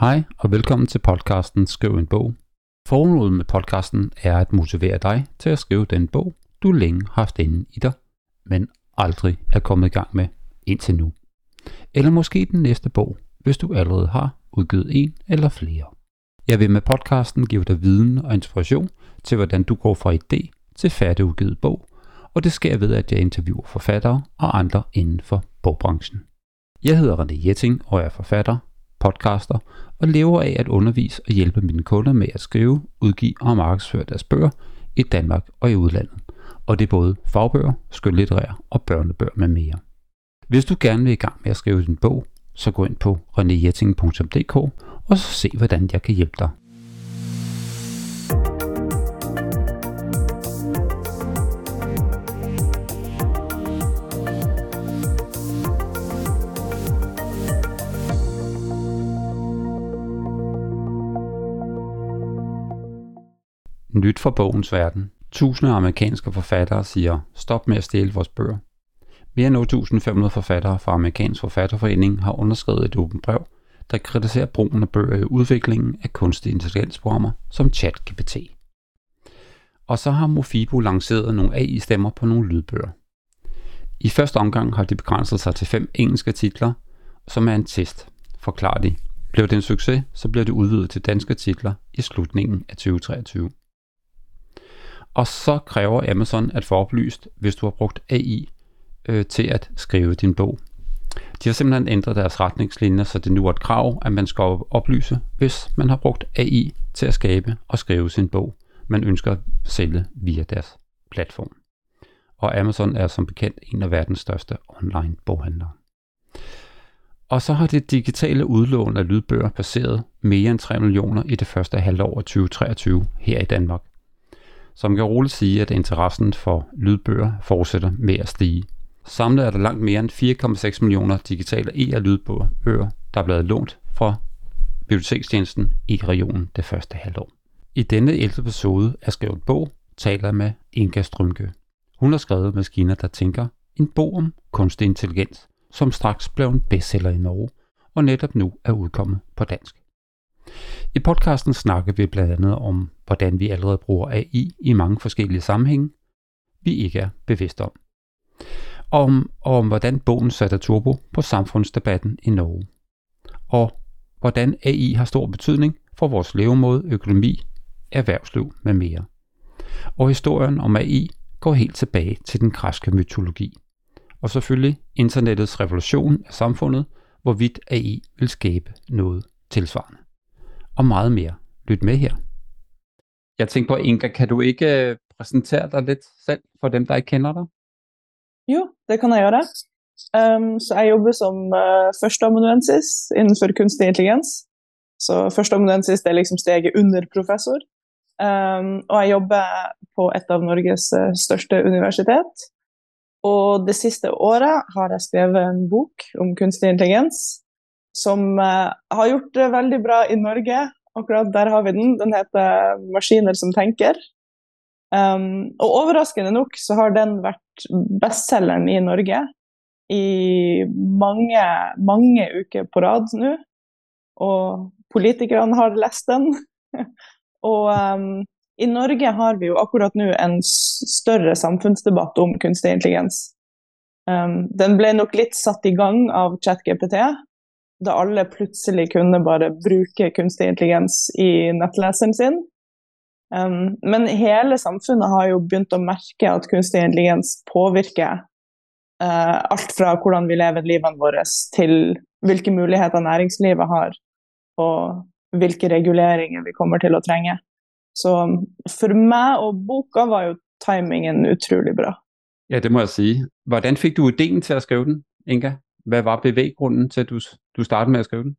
Hej og velkommen til podcasten Skriv en bog. Formålet med podcasten er at motivere dig til at skrive den bog, du længe har haft inde i dig, men aldrig er kommet i gang med indtil nu. Eller måske den næste bog, hvis du allerede har udgivet en eller flere. Jeg vil med podcasten give dig viden og inspiration til, hvordan du går fra idé til færdigudgivet bog, og det sker ved, at jeg interviewer forfattere og andre inden for bogbranchen. Jeg hedder René Jetting og er forfatter, podcaster og lever af at undervise og hjælpe mine kunder med at skrive, udgive og markedsføre deres bøger i Danmark og i udlandet. Og det er både fagbøger, skønlitterære og børnebøger med mere. Hvis du gerne vil i gang med at skrive din bog, så gå ind på renejetting.dk og så se, hvordan jeg kan hjælpe dig. Nyt fra bogens verden. Tusinder af amerikanske forfattere siger, stop med at stjæle vores bøger. Mere end 8.500 forfattere fra Amerikansk Forfatterforening har underskrevet et åbent brev, der kritiserer brugen af bøger i udviklingen af kunstig intelligensprogrammer som ChatGPT. Og så har Mofibo lanceret nogle AI-stemmer på nogle lydbøger. I første omgang har de begrænset sig til 5 engelske titler, som er en test, forklarer de. Blev det en succes, så bliver det udvidet til danske titler i slutningen af 2023. Og så kræver Amazon at få oplyst, hvis du har brugt AI til at skrive din bog. De har simpelthen ændret deres retningslinjer, så det nu er et krav, at man skal oplyse, hvis man har brugt AI til at skabe og skrive sin bog, man ønsker at sælge via deres platform. Og Amazon er som bekendt en af verdens største online boghandlere. Og så har det digitale udlån af lydbøger passeret mere end 3 millioner i det første halvår af 2023 her i Danmark. Så man kan roligt sige, at interessen for lydbøger fortsætter med at stige. Samlet er der langt mere end 4,6 millioner digitale e-lydbøger, der er blevet lånt fra bibliotekstjenesten i regionen det første halvår. I denne 11. episode af Skrevet Bog taler jeg med Inga Strømke. Hun har skrevet Maskiner, der tænker, en bog om kunstig intelligens, som straks blev en bestseller i Norge, og netop nu er udkommet på dansk. I podcasten snakker vi blandt andet om, hvordan vi allerede bruger AI i mange forskellige sammenhænge, vi ikke er bevidste om. Om hvordan bogen satte turbo på samfundsdebatten i Norge. Og hvordan AI har stor betydning for vores levemåde, økonomi, erhvervsliv med mere. Og historien om AI går helt tilbage til den græske mytologi. Og selvfølgelig internettets revolution af samfundet, hvorvidt AI vil skabe noget tilsvarende. Og meget mere. Lyt med her. Jeg tænker på, Inga, kan du ikke præsentere dig lidt selv for dem, der ikke kender dig? Jo, det kan jeg gøre. Så jeg jobber som førsteamanuensis inden for kunstig intelligens. Så førsteamanuensis det er liksom steget under professor. Og jeg jobber på et av Norges største universitet. Og det sidste året har jeg skrevet en bok om kunstig intelligens, som har gjort det veldig bra i Norge. Akkurat der har vi den. Den heter Maskiner som tenker. Og overraskende nok så har den vært bestselleren i Norge i mange uker på rad nu. Og politikerne har lest den. Og i Norge har vi jo akkurat nu en større samfunnsdebatt om kunstig intelligens. Den ble nok litt satt i gang av ChatGPT, da alle plutselig kunne bare bruke kunstig intelligens i nettleseren sin. Men hele samfunnet har jo begynt å merke at kunstig intelligens påvirker alt fra hvordan vi lever livene våre til hvilke muligheter næringslivet har og hvilke reguleringer vi kommer til å trenge. Så for meg og boka var jo timingen utrolig bra. Ja, det må jeg sige. Hvordan fik du ideen til at skrive den, Inga? Hvad var bevæggrunden til, at du startede med at skrive den?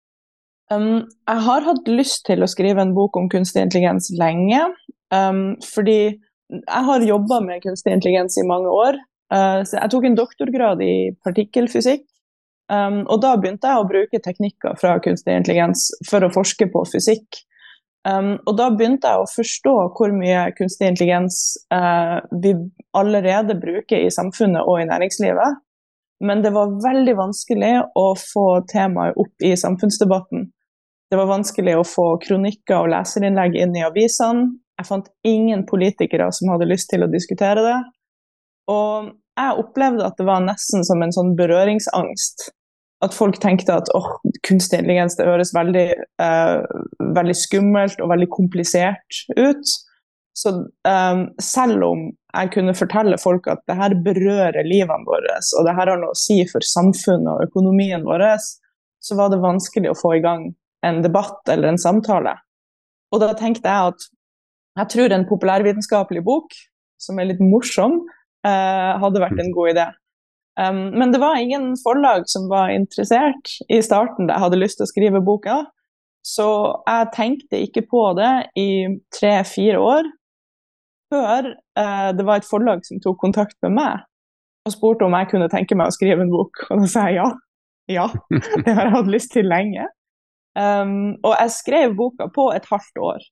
Jeg har hatt lyst til å skrive en bok om kunstig intelligens lenge, fordi jeg har jobbet med kunstig intelligens i mange år. Så jeg tok en doktorgrad i partikkelfysikk, og da begynte jeg å bruke teknikker fra kunstig intelligens for å forske på fysikk. Og da begynte jeg å forstå hvor mye kunstig intelligens vi allerede bruker i samfunnet og i næringslivet. Men det var veldig vanskelig å få temaet opp i samfunnsdebatten. Det var vanskelig å få kronikker og leserinnlegg inn i avisene. Jeg fant ingen politikere som hadde lyst til å diskutere det. Og jeg opplevde at det var nesten som en sånn berøringsangst. At folk tenkte at kunstig intelligens det høres veldig, veldig skummelt og veldig komplisert ut. Så selv om jeg kunne fortelle folk at det her berører livene våre, og det her har noe å si for samfunnet og økonomien vår, så var det vanskelig å få i gang en debatt eller en samtale. Og da tenkte jeg at jeg tror en populærvitenskapelig bok, som er litt morsom, hadde vært en god idé. Men det var ingen forlag som var interessert i starten da jeg hadde lyst til å skrive boka, så jeg tenkte ikke på det i 3-4 år, før det var et forlag som tok kontakt med meg, og spurte om jeg kunne tenke meg å skrive en bok, og da sa jeg ja, det har jeg hatt lyst til lenge. Og jeg skrev boka på et halvt år.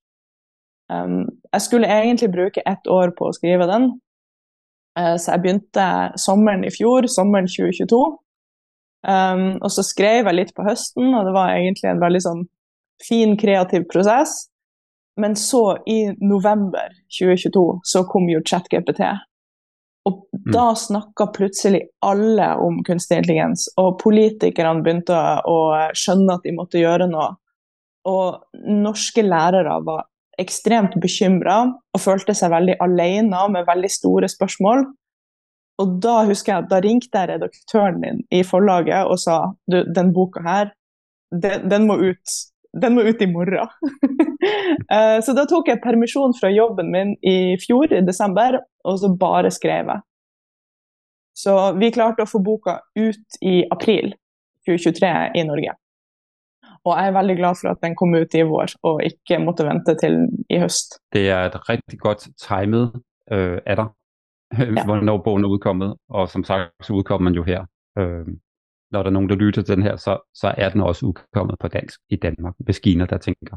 Jeg skulle egentlig bruke 1 år på å skrive den, så jeg begynte sommeren i fjor, sommeren 2022, og så skrev jeg litt på høsten, og det var egentlig en veldig sånn fin, kreativ prosess. Men så i november 2022 så kom jo ChatGPT, og da snakket plutselig alle om kunstig intelligens, og politikerne begynte å skjønne at de måtte gjøre noe. Og norske lærere var ekstremt bekymret og følte seg veldig alene med veldig store spørsmål. Og da husker jeg at da ringte jeg redaktøren min i forlaget og sa, du, den boka her, den må ut. Den må ut i morgen. Så da tok jeg permisjon fra jobben min i fjor, i desember, og så bare skrev jeg. Så vi klarte å få boka ut i april 2023 i Norge. Og jeg er veldig glad for at den kom ut i vår, og ikke måtte vente til i høst. Det er et rigtig godt timet af dig, hvornår bogen er udkommet, og som sagt, så udkommer man jo her. Når der er nogen, der lytter til den her, så er den også udkommet på dansk i Danmark, hvis Kina, der tænker.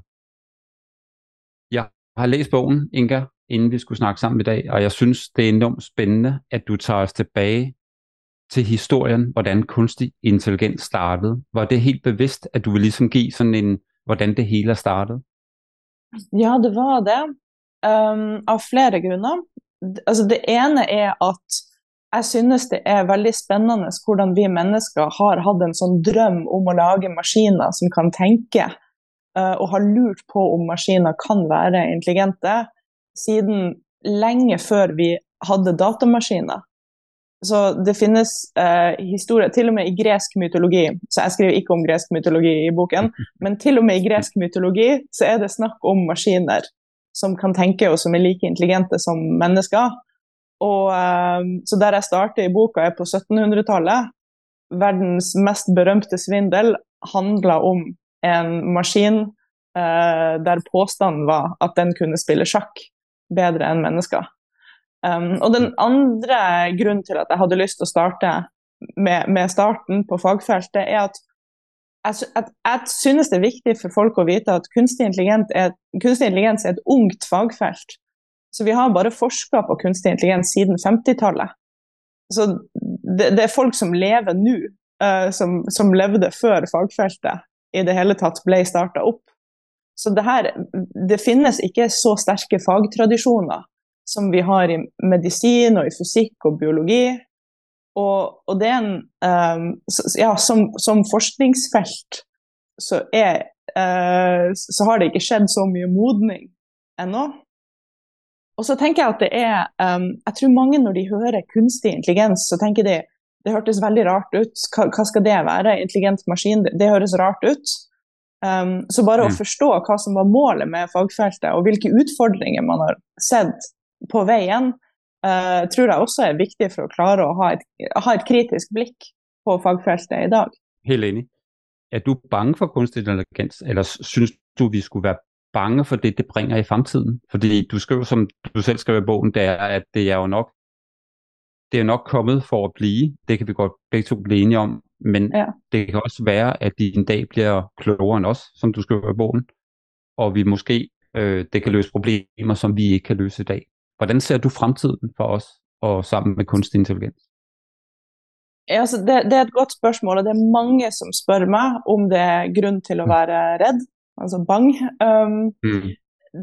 Jeg har læst bogen, Inga, inden vi skulle snakke sammen i dag, og jeg synes, det er enormt spændende, at du tager os tilbage til historien, hvordan kunstig intelligens startede. Var det helt bevidst, at du ville ligesom give sådan en, hvordan det hele er startet? Ja, det var det. Av flere grunner. Altså, det ene er at jeg synes det er veldig spennende hvordan vi mennesker har hatt en sånn drøm om å lage maskiner som kan tenke, og har lurt på om maskiner kan være intelligente, siden lenge før vi hadde datamaskiner. Så det finnes historier, til og med i gresk mytologi, så jeg skriver ikke om gresk mytologi i boken, men til og med i gresk mytologi så er det snakk om maskiner som kan tenke og som er like intelligente som mennesker. Og så der jeg starter i boka er på 1700-tallet. Verdens mest berømte svindel handler om en maskin der påstanden var at den kunne spille sjakk bedre enn mennesker. Og den andre grunnen til at jeg hadde lyst til å starte med starten på fagfeltet er at jeg synes det er viktig for folk å vite at kunstig intelligens er et ungt fagfelt. Så vi har bare forsket på kunstig intelligens siden 50-tallet. Så det er folk som lever nå, som levde før fagfeltet i det hele tatt ble startet opp. Så det finnes ikke så sterke fagtradisjoner som vi har i medisin og i fysikk og biologi. Og det er som forskningsfelt så har det ikke skjedd så mye modning ennå. Og så tenker jeg at jeg tror mange når de hører kunstig intelligens, så tenker de, det hørtes veldig rart ut. Hva skal det være? Intelligent maskin, det høres rart ut. Så bare å forstå hva som var målet med fagfeltet, og hvilke utfordringer man har sett på veien, tror jeg også er viktig for å klare å ha et kritisk blikk på fagfeltet i dag. Helt enig. Er du bange for kunstig intelligens, eller synes du, vi skulle være bange for det bringer i fremtiden? Fordi du skriver, som du selv skriver i bogen, det er, at det er jo nok kommet for at blive. Det kan vi godt begge to blive enige om. Men det kan også være, at de en dag bliver klogere end os, som du skriver i bogen. Og vi måske, det kan løse problemer, som vi ikke kan løse i dag. Hvordan ser du fremtiden for os, og sammen med kunstig intelligens? Ja, altså det er et godt spørsmål, og det er mange som spør meg om det er grunn til å være redd. altså bang. Mm.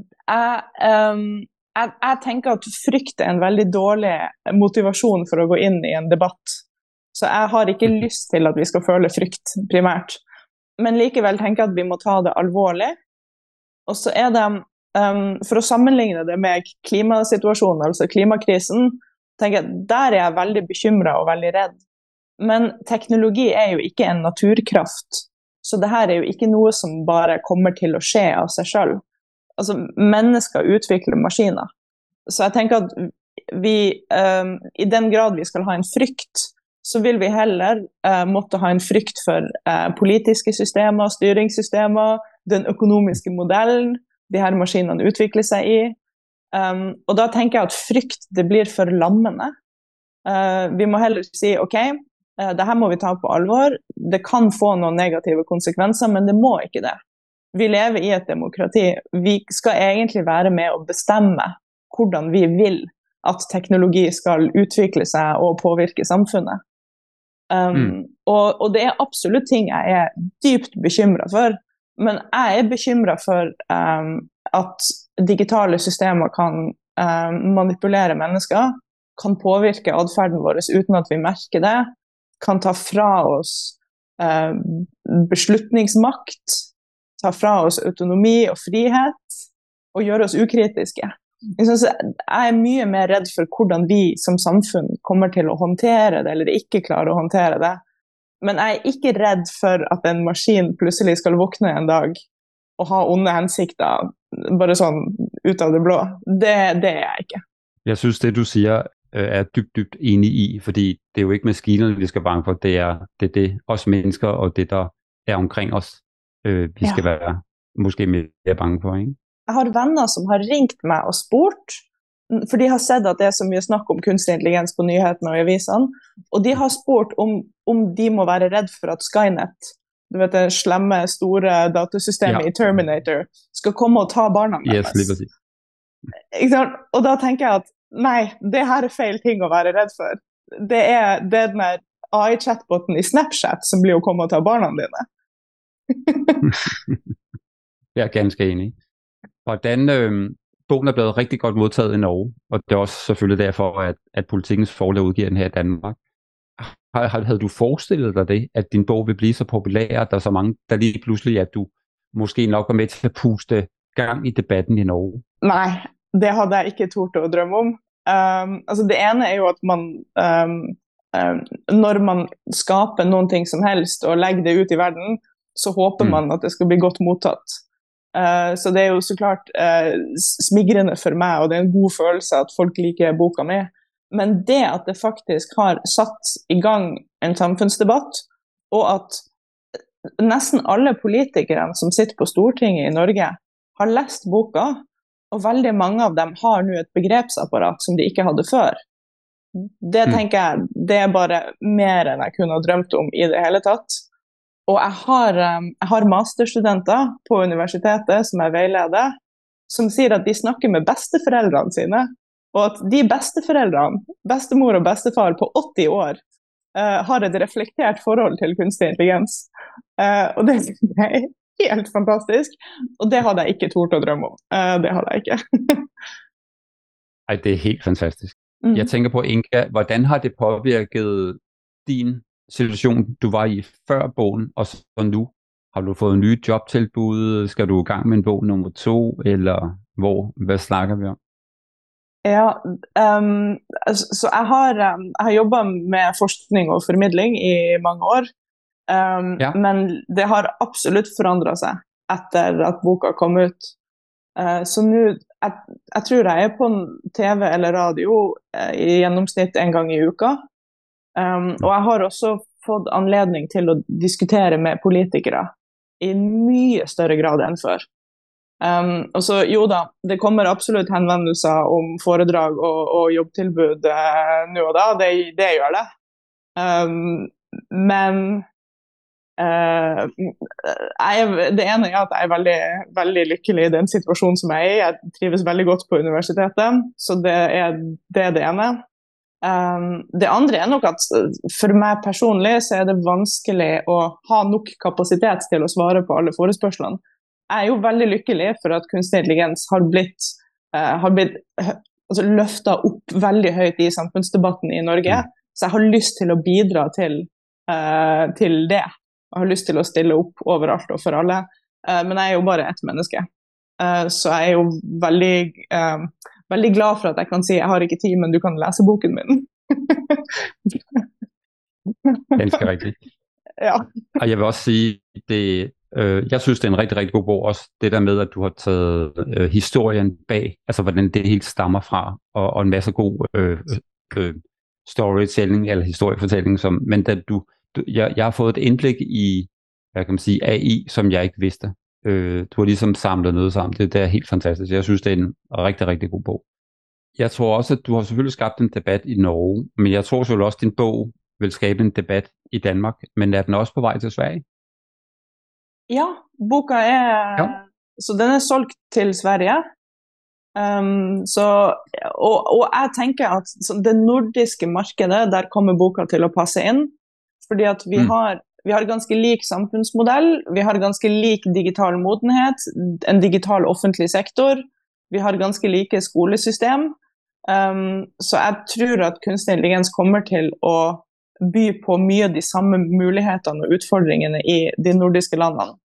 Jeg tenker at frykt er en veldig dårlig motivasjon for å gå inn i en debatt. Så jeg har ikke lyst til at vi skal føle frykt primært. Men likevel tenker jeg at vi må ta det alvorlig. Og så er det, for å sammenligne det med klimasituasjonen, altså klimakrisen, tenker jeg, der er jeg veldig bekymret og veldig redd. Men teknologi er jo ikke en naturkraft, så det her er jo ikke noe som bare kommer til å skje av seg selv. Altså, mennesker utvikler maskiner. Så jeg tenker at vi, i den grad vi skal ha en frykt, så vil vi heller måtte ha en frykt for politiske systemer, styringssystemer, den økonomiske modellen de her maskinene utvikler seg i. Og da tenker jeg at frykt, det blir for lammende. Vi må heller si, ok, det her må vi ta på alvor. Det kan få noen negative konsekvenser, men det må ikke det. Vi lever i et demokrati. Vi skal egentlig være med å bestemme hvordan vi vil at teknologi skal utvikle seg og påvirke samfunnet. Og det er absolutt ting jeg er dypt bekymret for, men jeg er bekymret for at digitale systemer kan manipulere mennesker, kan påvirke adferden vår uten at vi merker det, kan ta fra oss beslutningsmakt, ta fra oss autonomi og frihet, og gjøre oss ukritiske. Jeg er mye mer redd for hvordan vi som samfunn kommer til å håndtere det, eller ikke klarer å håndtere det. Men jeg er ikke redd for at en maskin plutselig skal våkne en dag og ha onde hensikter, bare sånn ut av det blå. Det er jeg ikke. Jeg synes, det du siger, er dybt enig i, fordi det er jo ikke maskinerne, vi skal bange for, det er det os mennesker og det, der er omkring os, vi skal være måske mere bange for, ikke? Jeg har venner som har ringt meg og spurt, for de har sett at det er så mye snakk om kunstig intelligens på nyhetene og i avisene, og de har spurt om de må være redd for at Skynet, du vet det slemme, store datasystemet i Terminator, skal komme og ta barna deres. Yes, litt ikke sant? Og da tenker jeg at nei, det her er feil ting å være redd for. Det er den AI-chatboten i Snapchat som blir å komme og ta barna dine. Jeg er ganske enig. Hvordan bogen er blevet rigtig godt modtaget i Norge, og det er også selvfølgelig derfor, at Politikens Forlag udgiver den her i Danmark. Havde du forestillet dig det, at din bog vil blive så populær, at der er så mange, der lige pludselig, at du måske nok var med til at puste gang i debatten i Norge? Nej, det hadde jeg ikke tort å drømme om. Altså det ene er jo at man, når man skaper noen ting som helst og legger det ut i verden, så håper man at det skal bli godt mottatt. Så det er jo så klart smigrende for meg, og det er en god følelse at folk liker boka mi. Men det at det faktisk har satt i gang en samfunnsdebatt, og at nesten alle politikere som sitter på Stortinget i Norge har lest boka, og veldig mange av dem har nå et begrepsapparat som de ikke hadde før. Det tenker jeg, det er bare mer enn jeg kunne ha drømt om i det hele tatt. Og jeg har masterstudenter på universitetet som jeg veileder, som sier at de snakker med besteforeldrene sine, og at de besteforeldrene, bestemor og bestefar på 80 år, har et reflektert forhold til kunstig intelligens. Og det er helt fantastisk, og det hadde jeg ikke tort å drømme om. Det hadde jeg ikke. Ej, det er helt fantastisk. Jeg tænker på, Inga, hvordan har det påvirket din situation, du var i før bogen, og så nu? Har du fået nye jobtilbud? Skal du i gang med en bog nummer 2? Eller hvad snakker vi om? Ja, så jeg har jobbet med forskning og formidling i mange år, men det har absolutt forandret seg etter at boka kom ut. Så nå, jeg tror jeg er på TV eller radio i gjennomsnitt en gang i uka. Og jeg har også fått anledning til å diskutere med politikere i mye større grad enn før. Og så jo da, det kommer absolutt henvendelser om foredrag og jobbtilbud nå og da, det gjør det. Men det ene er at jeg er veldig, veldig lykkelig i den situasjonen som jeg er i. Jeg trives veldig godt på universitetet, så det er det ene. Det andre er nok at for meg personlig så er det vanskelig å ha nok kapasitet til å svare på alle forespørslene. jeg jo veldig lykkelig for at kunstig intelligens har blitt altså, løftet opp veldig høyt i samfunnsdebatten i Norge. Så jeg har lyst til å bidra til det. Jeg har lyst til å stille opp overalt og for alle. Men jeg er jo bare ett menneske. Så jeg er jo veldig glad for at jeg kan si jeg har ikke tid, men du kan lese boken min. Ganske rigtigt. Ja. Og jeg vil også sige, jeg synes, det er en rigtig, rigtig god bog. Også det der med, at du har taget historien bag, altså hvordan det helt stammer fra, og en masse god storytelling eller historiefortælling. Men da jeg har fået et indblik i, hvad kan man sige, AI, som jeg ikke vidste. Du har ligesom samlet noget sammen. Det er helt fantastisk. Jeg synes, det er en rigtig, rigtig god bog. Jeg tror også, at du har selvfølgelig skabt en debat i Norge, men jeg tror selvfølgelig også, at din bog vil skabe en debat i Danmark. Men er den også på vej til Sverige? Ja, boka så den er solgt til Sverige. Og jeg tenker at det nordiske markedet, der kommer boka til å passe inn, fordi at vi har ganske lik samfunnsmodell, vi har ganske lik digital modenhet, en digital offentlig sektor, vi har ganske like skolesystem, så jeg tror at kunstig intelligens kommer til å by på mye av de samme mulighetene og utfordringene i de nordiske landene.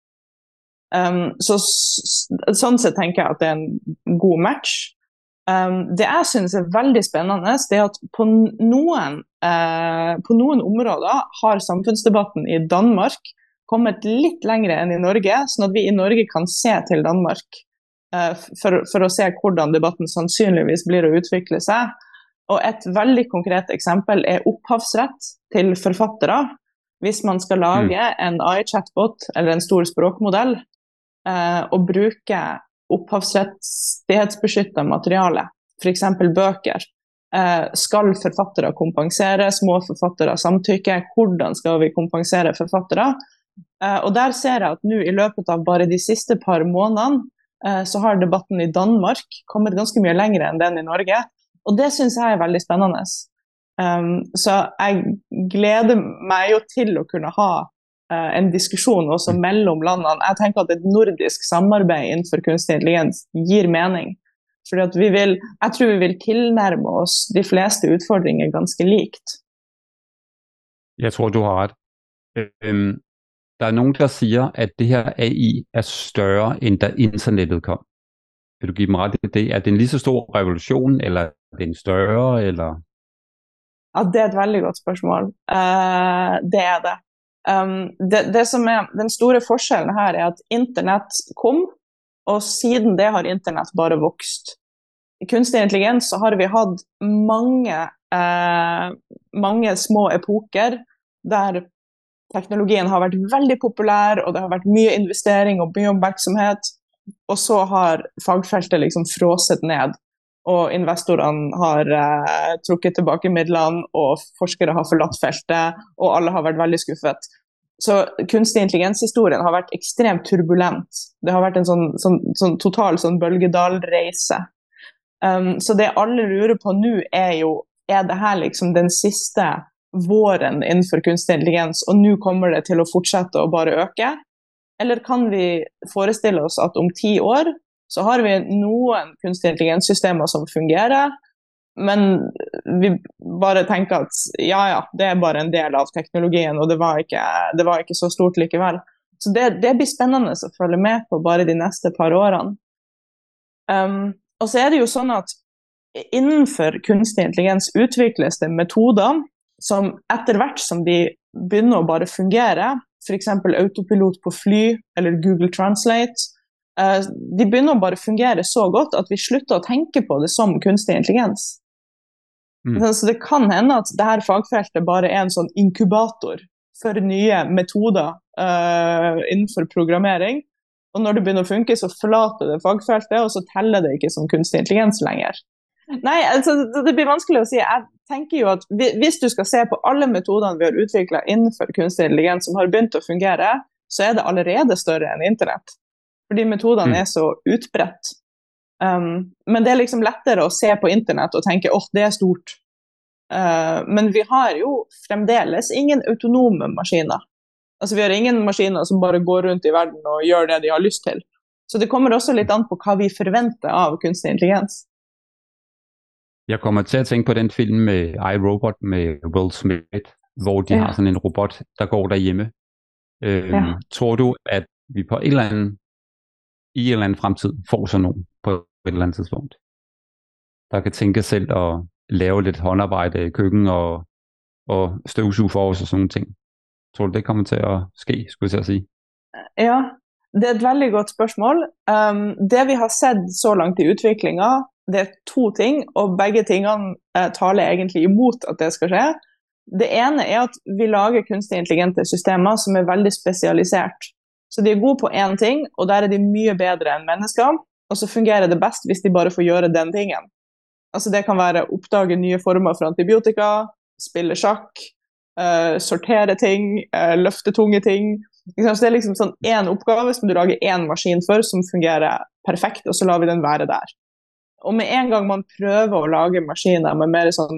Sånn sett tenker jeg at det er en god match. Det jeg synes er veldig spennende, det er at på noen områder har samfunnsdebatten i Danmark kommet litt lengre enn i Norge, sånn at vi i Norge kan se til Danmark for å se hvordan debatten sannsynligvis blir å utvikle seg. Og et veldig konkret eksempel er opphavsrett til forfattere. Hvis man skal lage en AI-chatbot eller en stor språkmodell og bruke opphavsrettighetsbeskyttet materiale, for eksempel bøker, skal forfattere kompensere, små forfattere samtykke, hvordan skal vi kompensere forfattere? Og der ser jeg at nå i løpet av bare de siste par månedene så har debatten i Danmark kommet ganske mye lengre enn den i Norge, og det synes jeg er veldig spennende. Så jeg gleder meg jo til å kunne ha en diskusjon også mellom landene. Jeg tenker at et nordisk samarbeid innenfor kunstig intelligens gir mening, fordi at jeg tror vi vil tilnærme oss de fleste utfordringer ganske likt. Jeg tror, du har ret. Der er nogen, der siger, at det her AI er større, end da internettet kom. Vil du give dem ret i det? Er det en lige så stor revolution, eller er det en større, eller? Ja, det er et veldig godt spørsmål. Det er det. Det som er den store forskjellen her er at internett kom, og siden det har internett bare vokst. I kunstig intelligens så har vi hatt mange små epoker der teknologien har vært veldig populær, og det har vært mye investering og mye oppmerksomhet, og så har fagfeltet liksom frosset ned, og investorene har trukket tilbake midlene, og forskere har forlatt feltet, og alle har vært veldig skuffet. Så kunstig intelligenshistorien har vært ekstremt turbulent. Det har vært en sånn total bølgedalreise. Så det alle lurer på nå er det her liksom den siste våren innenfor kunstig intelligens, og nå kommer det til å fortsette å bare øke? Eller kan vi forestille oss at om 10 år så har vi noen kunstig intelligenssystemer som fungerer, men vi bare tenker at ja, det er bare en del av teknologien, og det var ikke så stort likevel. Så det blir spennende å følge med på bare de neste par årene. Og så er det jo sånn at innenfor kunstig intelligens utvikles det metoder som etter hvert som de begynner å bare fungere, for eksempel autopilot på fly eller Google Translate, de begynner å bare fungere så godt at vi slutter å tenke på det som kunstig intelligens. Så det kan hende at dette fagfeltet bare er en sånn inkubator for nye metoder innenfor programmering, og når det begynner å funke så forlater det fagfeltet, og så teller det ikke som kunstig intelligens lenger. Nei, altså det blir vanskelig å si. Jeg tenker jo at hvis du skal se på alle metodene vi har utviklet innenfor kunstig intelligens som har begynt å fungere, så er det allerede større enn internett. Fordi metodene er så utbredt. Men det er liksom lettere å se på internett og tenke, det er stort. Men vi har jo fremdeles ingen autonome maskiner. Altså vi har ingen maskiner som bare går rundt i verden og gjør det de har lyst til. Så det kommer også lidt an på, hvad vi forventer av kunstig intelligens. Jeg kommer til at tænke på den film med iRobot med Will Smith, hvor de har sådan en robot, der går derhjemme. Tror du, at vi på i en eller anden fremtid får sådan nogen på et eller andet tidspunkt, der kan tænke selv og lave lidt håndarbejde i køkken og støvsuge for os og sådan nogle ting? Tror du, det kommer til at ske, skulle jeg sige? Ja, det er et veldig godt spørgsmål. Det vi har sett så langt i utviklinga, det er 2 ting, og begge tingene taler egentlig imot at det skal skje. Det ene er at vi lager kunstig intelligente systemer som er veldig spesialisert. Så de er gode på en ting, og der er de mye bedre enn mennesker, og så fungerer det best hvis de bare får gjøre den tingen. Altså det kan være å oppdage nye former for antibiotika, spille sjakk, sortere ting, løfte tunge ting. Så det er liksom sånn en oppgave som du lager en maskin for som fungerer perfekt, og så lar vi den være der. Og med en gang man prøver å lage maskiner med mer sånn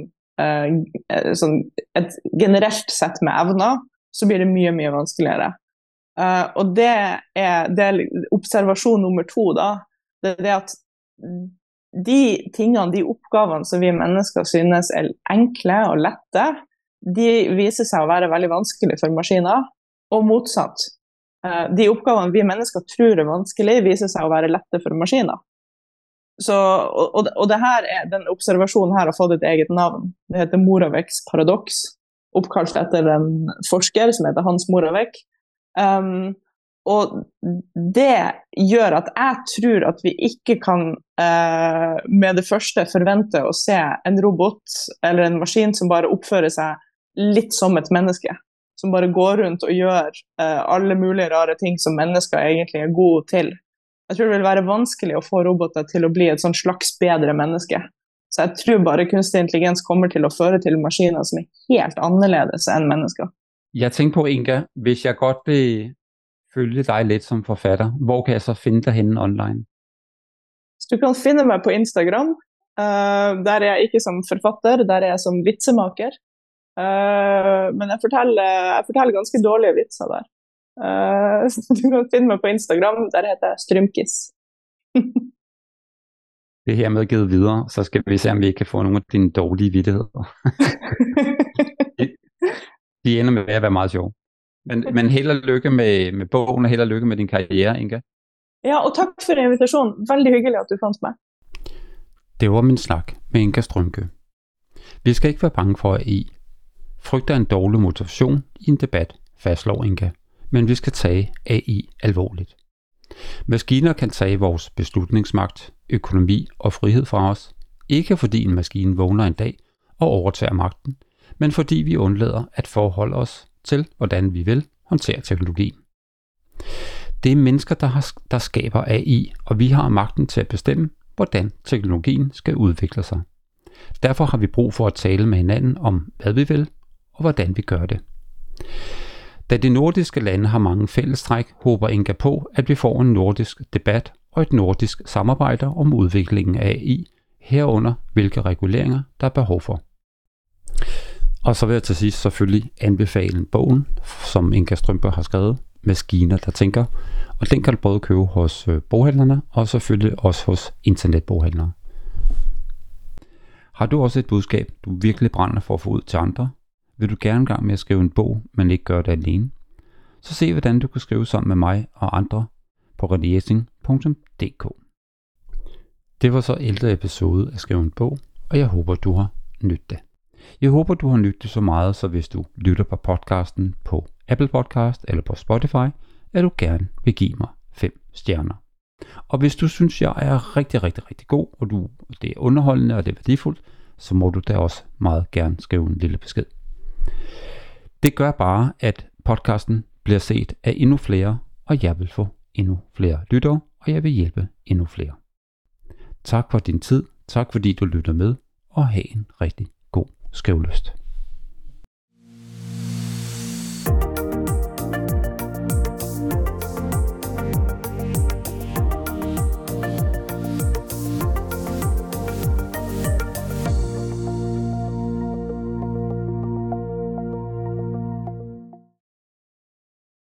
et generelt sett med evner, så blir det mye vanskeligere. Og det er observasjon nummer 2 da. Det er det at de tingene, de oppgavene som vi mennesker synes er enkle og lette, de viser seg å være veldig vanskelig for maskiner, og motsatt. De oppgavene vi mennesker tror er vanskelig, viser seg å være lette for maskiner. Så, og det her den observasjonen her har fått et eget navn. Det heter Moravecks paradoks, oppkalt etter en forsker som heter Hans Moravec. Og det gjør at jeg tror at vi ikke kan med det første forvente å se en robot eller en maskin som bare oppfører seg litt som et menneske, som bare går rundt og gjør alle mulige rare ting som mennesker egentlig er gode til. Jeg tror det vil være vanskelig å få roboter til å bli et sånn slags bedre menneske. Så jeg tror bare kunstig intelligens kommer til å føre til maskiner som er helt annerledes enn mennesker. Jeg tænker på, Inga, hvis jeg godt vil følge dig lidt som forfatter, hvor kan jeg så finde dig henne online? Så du kan finde mig på Instagram. Der er jeg ikke som forfatter, der er jeg som vitsemaker. Men jeg forteller ganske dårlige vitser der. Så du kan finne meg på Instagram, der heter jeg Strymkis. Det er hermed givet videre, så skal vi se, om vi ikke kan få nogle af dine dårlige vittigheder. De ender med at være meget sjove. Men held og lykke med bogen, og held og lykke med din karriere, Inga. Ja, og tak for invitationen. Veldig hyggelig, at du fandt mig. Det var min snak med Inga Strømke. Vi skal ikke være bange for, at I frygter en dårlig motivation i en debat, fastslår Inga. Men vi skal tage AI alvorligt. Maskiner kan tage vores beslutningsmagt, økonomi og frihed fra os, ikke fordi en maskine vågner en dag og overtager magten, men fordi vi undlader at forholde os til, hvordan vi vil håndtere teknologien. Det er mennesker, der skaber AI, og vi har magten til at bestemme, hvordan teknologien skal udvikle sig. Derfor har vi brug for at tale med hinanden om, hvad vi vil og hvordan vi gør det. Da de nordiske lande har mange fællestræk, håber Inga på, at vi får en nordisk debat og et nordisk samarbejde om udviklingen af AI, herunder hvilke reguleringer der er behov for. Og så vil jeg til sidst selvfølgelig anbefale bogen, som Inga Strømke har skrevet, Maskiner, der tænker, og den kan du både købe hos boghandlerne og selvfølgelig også hos internetboghandlere. Har du også et budskab, du virkelig brænder for at få ud til andre? Vil du gerne gang med at skrive en bog, men ikke gøre det alene? Så se, hvordan du kan skrive sammen med mig og andre på renéjesing.dk. Det var så 11. episode af Skrive en bog, og jeg håber, du har nydt det. Jeg håber, du har nydt det så meget, så hvis du lytter på podcasten på Apple Podcast eller på Spotify, at du gerne vil give mig 5 stjerner. Og hvis du synes, jeg er rigtig, rigtig, rigtig god, og det er underholdende og det er værdifuldt, så må du da også meget gerne skrive en lille besked. Det gør bare, at podcasten bliver set af endnu flere, og jeg vil få endnu flere lyttere, og jeg vil hjælpe endnu flere. Tak for din tid, tak fordi du lytter med, og have en rigtig god skrivelyst.